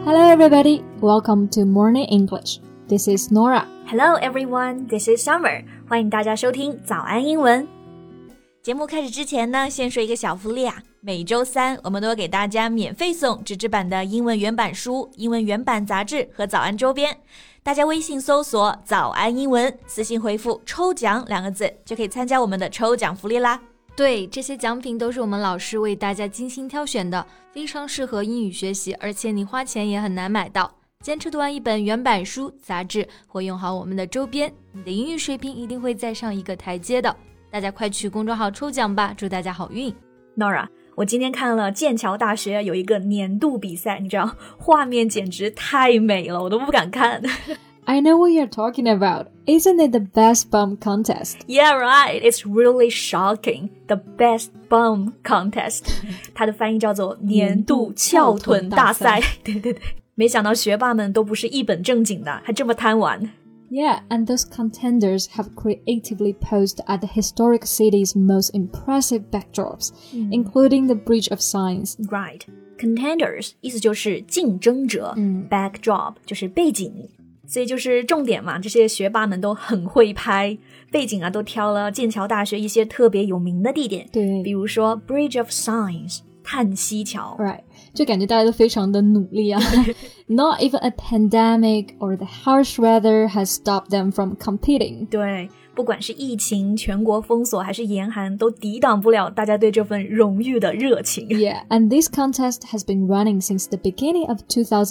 Hello everybody, welcome to Morning English. This is Nora. Hello everyone, this is Summer. 欢迎大家收听早安英文。节目开始之前呢，先说一个小福利啊。每周三我们都会给大家免费送纸质版的英文原版书、英文原版杂志和早安周边。大家微信搜索早安英文，私信回复抽奖2个字，就可以参加我们的抽奖福利啦。 对，这些奖品都是我们老师为大家精心挑选的，非常适合英语学习，而且你花钱也很难买到。坚持读完一本原版书、杂志或用好我们的周边，你的英语水平一定会再上一个台阶的。大家快去公众号抽奖吧，祝大家好运。 Nora， 我今天看了剑桥大学有一个年度比赛，你知道画面简直太美了，我都不敢看。 I know what you're talking about. Isn't it the best bum contest? Yeah, right. It's really shocking. The best bum contest. 它的翻译叫做年度翘臀大赛。对，没想到学霸们都不是一本正经的，还这么贪玩。 Yeah, and those contenders have creatively posed at the historic city's most impressive backdrops, including the Bridge of Signs. Right. Contenders 意思就是竞争者，backdrop 就是背景。所以就是重点嘛，这些学霸们都很会拍，背景啊都挑了剑桥大学一些特别有名的地点， 对， 比如说 Bridge of Signs 叹息桥 Right， 就感觉大家都非常的努力啊。Not even a pandemic or the harsh weather has stopped them from competing. 对，不管是疫情、全国封锁还是严寒，都抵挡不了大家对这份荣誉的热情。 Yeah, and this contest has been running since the beginning of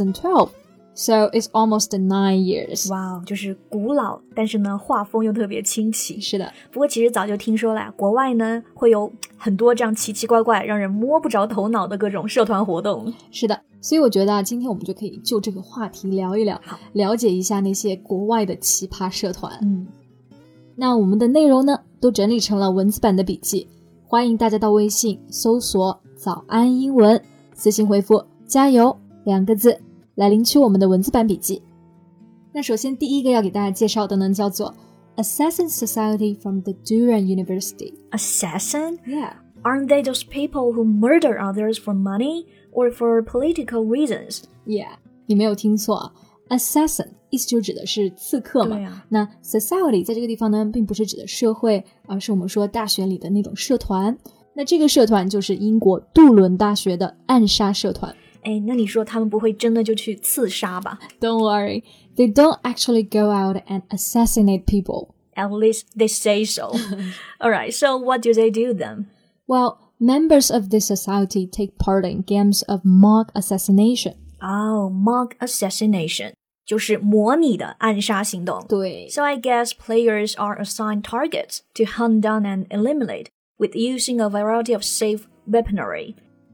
2012.So it's almost 9 years. 哇，就是古老，但是呢，画风又特别清奇。 是的， 不过其实早就听说了，国外呢会有很多这样奇奇怪怪、让人摸不着头脑的各种社团活动。 是的，所以我觉得今天我们就可以就这个话题聊一聊，了解一下那些国外的奇葩社团。那我们的内容呢，都整理成了文字版的笔记，欢迎大家到微信搜索早安英文，私信回复加油2个字来领取我们的文字版笔记。那首先第一个要给大家介绍的呢，叫做 Assassin Society from the Durham University. Assassin? Yeah. Aren't they those people who murder others for money or for political reasons? Yeah, 你没有听错 Assassin 意思就指的是刺客嘛。 对啊。 那 Society 在这个地方呢，并不是指的社会，而是我们说大学里的那种社团。那这个社团就是英国杜伦大学的暗杀社团。 哎，那你说他们不会真的就去刺杀吧？ Don't worry, they don't actually go out and assassinate people. At least they say so. Alright, so what do they do then? Well, members of this society take part in games of mock assassination. Oh, mock assassination. 就是模拟的暗杀行动。 对。 So I guess players are assigned targets to hunt down and eliminate with using a variety of safe weaponry.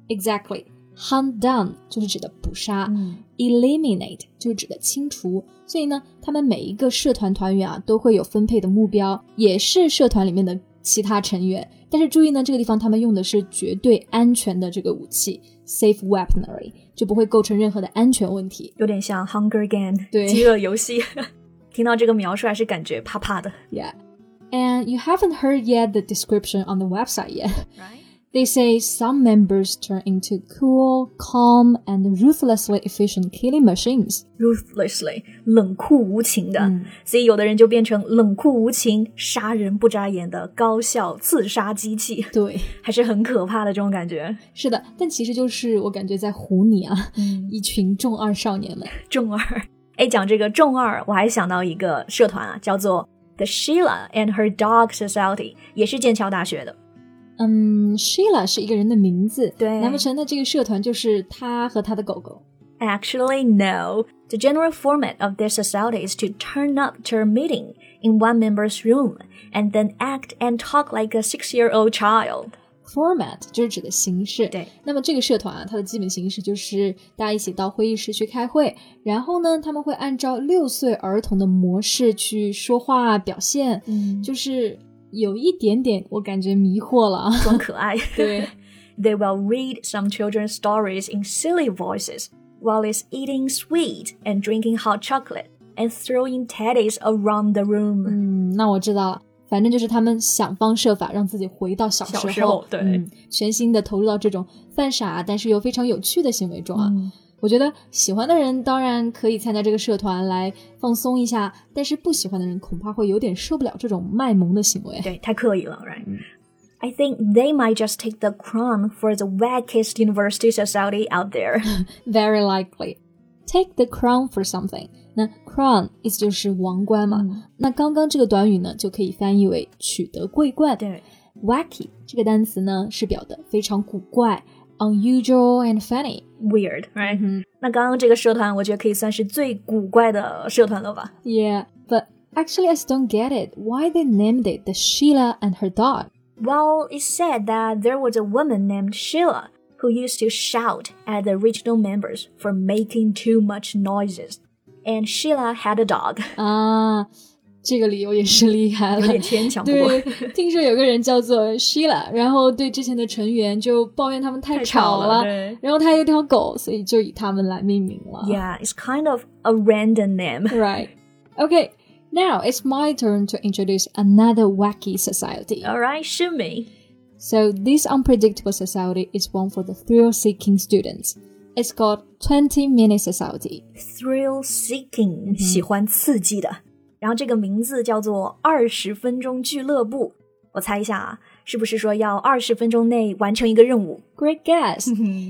Exactly.Hunt down 就是指的捕杀，eliminate 就是指的清除，所以呢，他们每一个社团团员啊都会有分配的目标，也是社团里面的其他成员。但是注意呢，这个地方他们用的是绝对安全的这个武器 ，safe weaponry， 就不会构成任何的安全问题。 有点像 Hunger Game 对， 饥饿游戏。听到这个描述还是感觉怕怕的。 Yeah, and you haven't heard yet the description on the website yet. Right.They say some members turn into cool, calm, and ruthlessly efficient killing machines. Ruthlessly, 冷酷无情的。所以有的人就变成冷酷无情、杀人不眨眼的高效刺杀机器。 对， 还是很可怕的这种感觉。 是的，但其实就是我感觉在唬你啊，一群中二少年们。 中二。哎，讲这个中二，我还想到一个社团啊，叫做 The Sheila and Her Dog Society， 也是剑桥大学的。 Sheila 是一个人的名字， 对， 难不成那这个社团就是他和他的狗狗？ Actually, no. The general format of this society is to turn up to a meeting in one member's room and then act and talk like a 6-year-old child. Format 就是指的形式。 对， 那么这个社团啊，它的基本形式就是大家一起到会议室去开会，然后呢，他们会按照6岁儿童的模式去说话表现，就是有一点点我感觉迷惑了啊， 装可爱。 对。 They will read some children's stories in silly voices while it's eating sweet and drinking hot chocolate and throwing teddies around the room. 那我知道了，反正就是他们想方设法让自己回到小时候， 对， 全心的投入到这种犯傻但是又非常有趣的行为中啊。 我觉得喜欢的人当然可以参加这个社团来放松一下，但是不喜欢的人恐怕会有点受不了这种卖萌的行为。 对，太刻意了 right? I think they might just take the crown for the wackiest university society out there. Very likely. Take the crown for something. 那 crown 意思就是王冠嘛，那刚刚这个短语呢就可以翻译为取得桂冠。 对， wacky 这个单词呢是表的非常古怪 unusual and funny. Weird, right? 那刚刚这个社团我觉得可以算是最古怪的社团了吧？ Yeah, but actually I still don't get it. Why they named it the Sheila and her dog? Well, it said that there was a woman named Sheila who used to shout at the original members for making too much noises. And Sheila had a dog. 啊，这个理由也是厉害了， 有点牵强。不过对，听说有个人叫做 Sheila， 然后对之前的成员就抱怨他们太吵了，然后他有条狗，所以就以他们来命名了。 Yeah, it's kind of a random name. Right. Okay, now it's my turn to introduce another wacky society. All right, shoot me. So this unpredictable society is one for the thrill-seeking students. It's called 20-minute society. Thrill-seeking, 喜欢刺激的。然后这个名字叫做20分钟俱乐部。我猜一下啊，是不是说要20分钟内完成一个任务？ Great guess.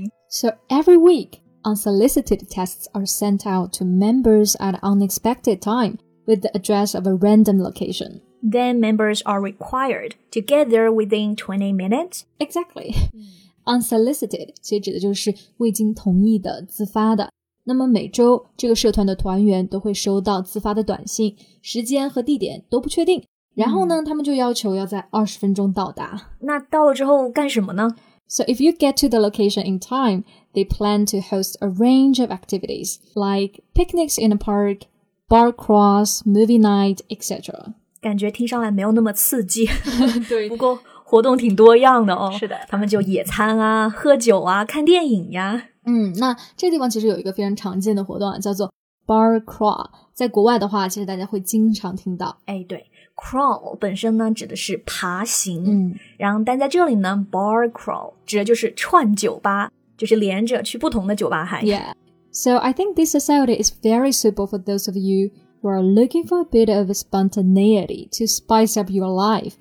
So every week, unsolicited tests are sent out to members at an unexpected time with the address of a random location. Then members are required to get there within 20 minutes. Exactly. Unsolicited 其实指的就是未经同意的自发的。那么每周这个社团的团员都会收到自发的短信，时间和地点都不确定。然后呢，他们就要求要在20分钟到达。 那到了之后干什么呢？ So if you get to the location in time, they plan to host a range of activities like picnics in a park, bar crawls, movie night, etc. 感觉听上来没有那么刺激。 对， 不过活动挺多样的哦。 是的， 他们就野餐啊、喝酒啊、看电影呀。 那这个地方其实有一个非常常见的活动啊，叫做 bar crawl。在国外的话，其实大家会经常听到。 哎，对 ，crawl 本身呢指的是爬行，然后但在这里呢 ，bar crawl 指的就是串酒吧，就是连着去不同的酒吧嗨。 Yeah, so I think this society is very suitable for those of you who are looking for a bit of spontaneity to spice up your life.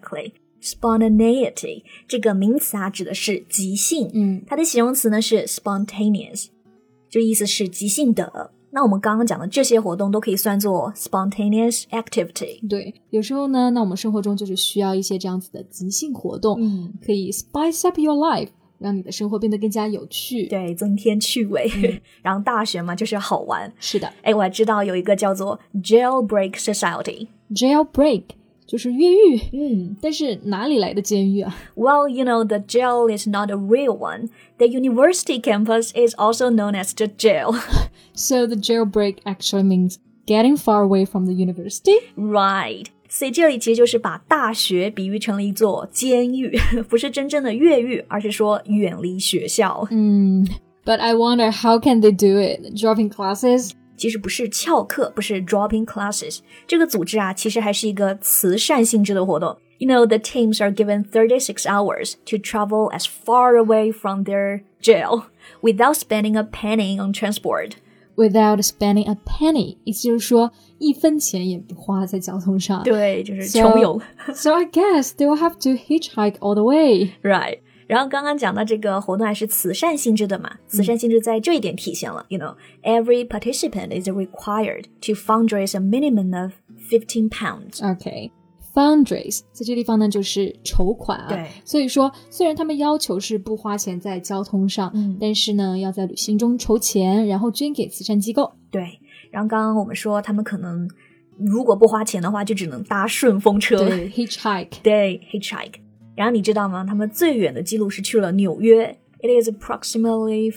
Exactly.Spontaneity 这个名词啊指的是即兴，它的形容词呢是 spontaneous， 就意思是即兴的。那我们刚刚讲的这些活动都可以算作 spontaneous activity。 对，有时候呢，那我们生活中就是需要一些这样子的即兴活动，可以 spice up your life， 让你的生活变得更加有趣。 对，增添趣味。然后大学嘛，就是好玩。 是的， 哎，我还知道有一个叫做 jailbreak society。Jailbreak 就是越狱，但是哪里来的监狱啊？ Well, you know, the jail is not a real one. The university campus is also known as the jail. So the jailbreak actually means getting far away from the university? Right. 所以这里其实就是把大学比喻成了一座监狱，不是真正的越狱，而是说远离学校。 But I wonder how can they do it? Dropping classes? 其实不是翘课，不是 dropping classes。这个组织啊，其实还是一个慈善性质的活动。You know, the teams are given 36 hours to travel as far away from their jail without spending a penny on transport. Without spending a penny, 意思就是说1分钱也不花在交通上。 对，就是穷游。 So I guess they will have to hitchhike all the way. Right.然后刚刚讲到这个活动还是慈善性质的嘛，慈善性质在这一点体现了。You know, every participant is required to fundraise a minimum of 15 pounds. Okay, fundraise 在这地方呢就是筹款啊。 对， 所以说虽然他们要求是不花钱在交通上，但是呢要在旅行中筹钱，然后捐给慈善机构。 对，然后刚刚我们说他们可能如果不花钱的话，就只能搭顺风车。 对 ，hitchhike。 对 ，hitchhike。然后你知道吗？他们最远的记录是去了纽约。It is approximately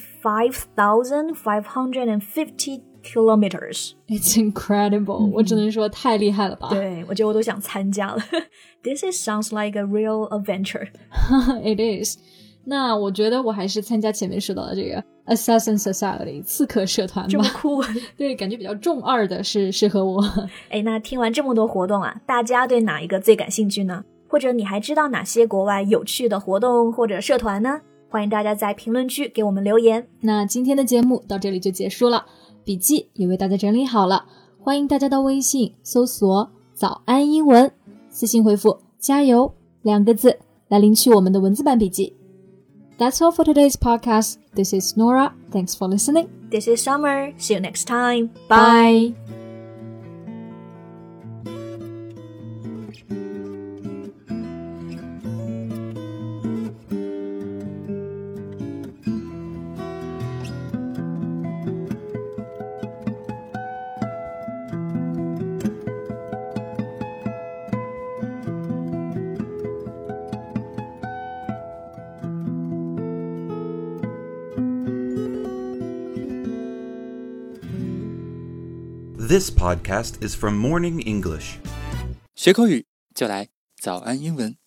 5,550 kilometers. It's incredible. 我只能说太厉害了吧。 对，我觉得我都想参加了。This sounds like a real adventure. It is. 那我觉得我还是参加前面说到的这个 Assassin Society 刺客社团吧。 这么酷。 对，感觉比较中二的是适合我。 哎，那听完这么多活动啊，大家对哪一个最感兴趣呢？或者你还知道哪些国外有趣的活动或者社团呢？ 欢迎大家在评论区给我们留言。 那今天的节目到这里就结束了，笔记也为大家整理好了，欢迎大家到微信搜索早安英文，私信回复加油2个字来领取我们的文字版笔记。That's all for today's podcast. This is Nora. Thanks for listening. This is Summer. See you next time. Bye. This podcast is from Morning English. 学口语就来早安英文。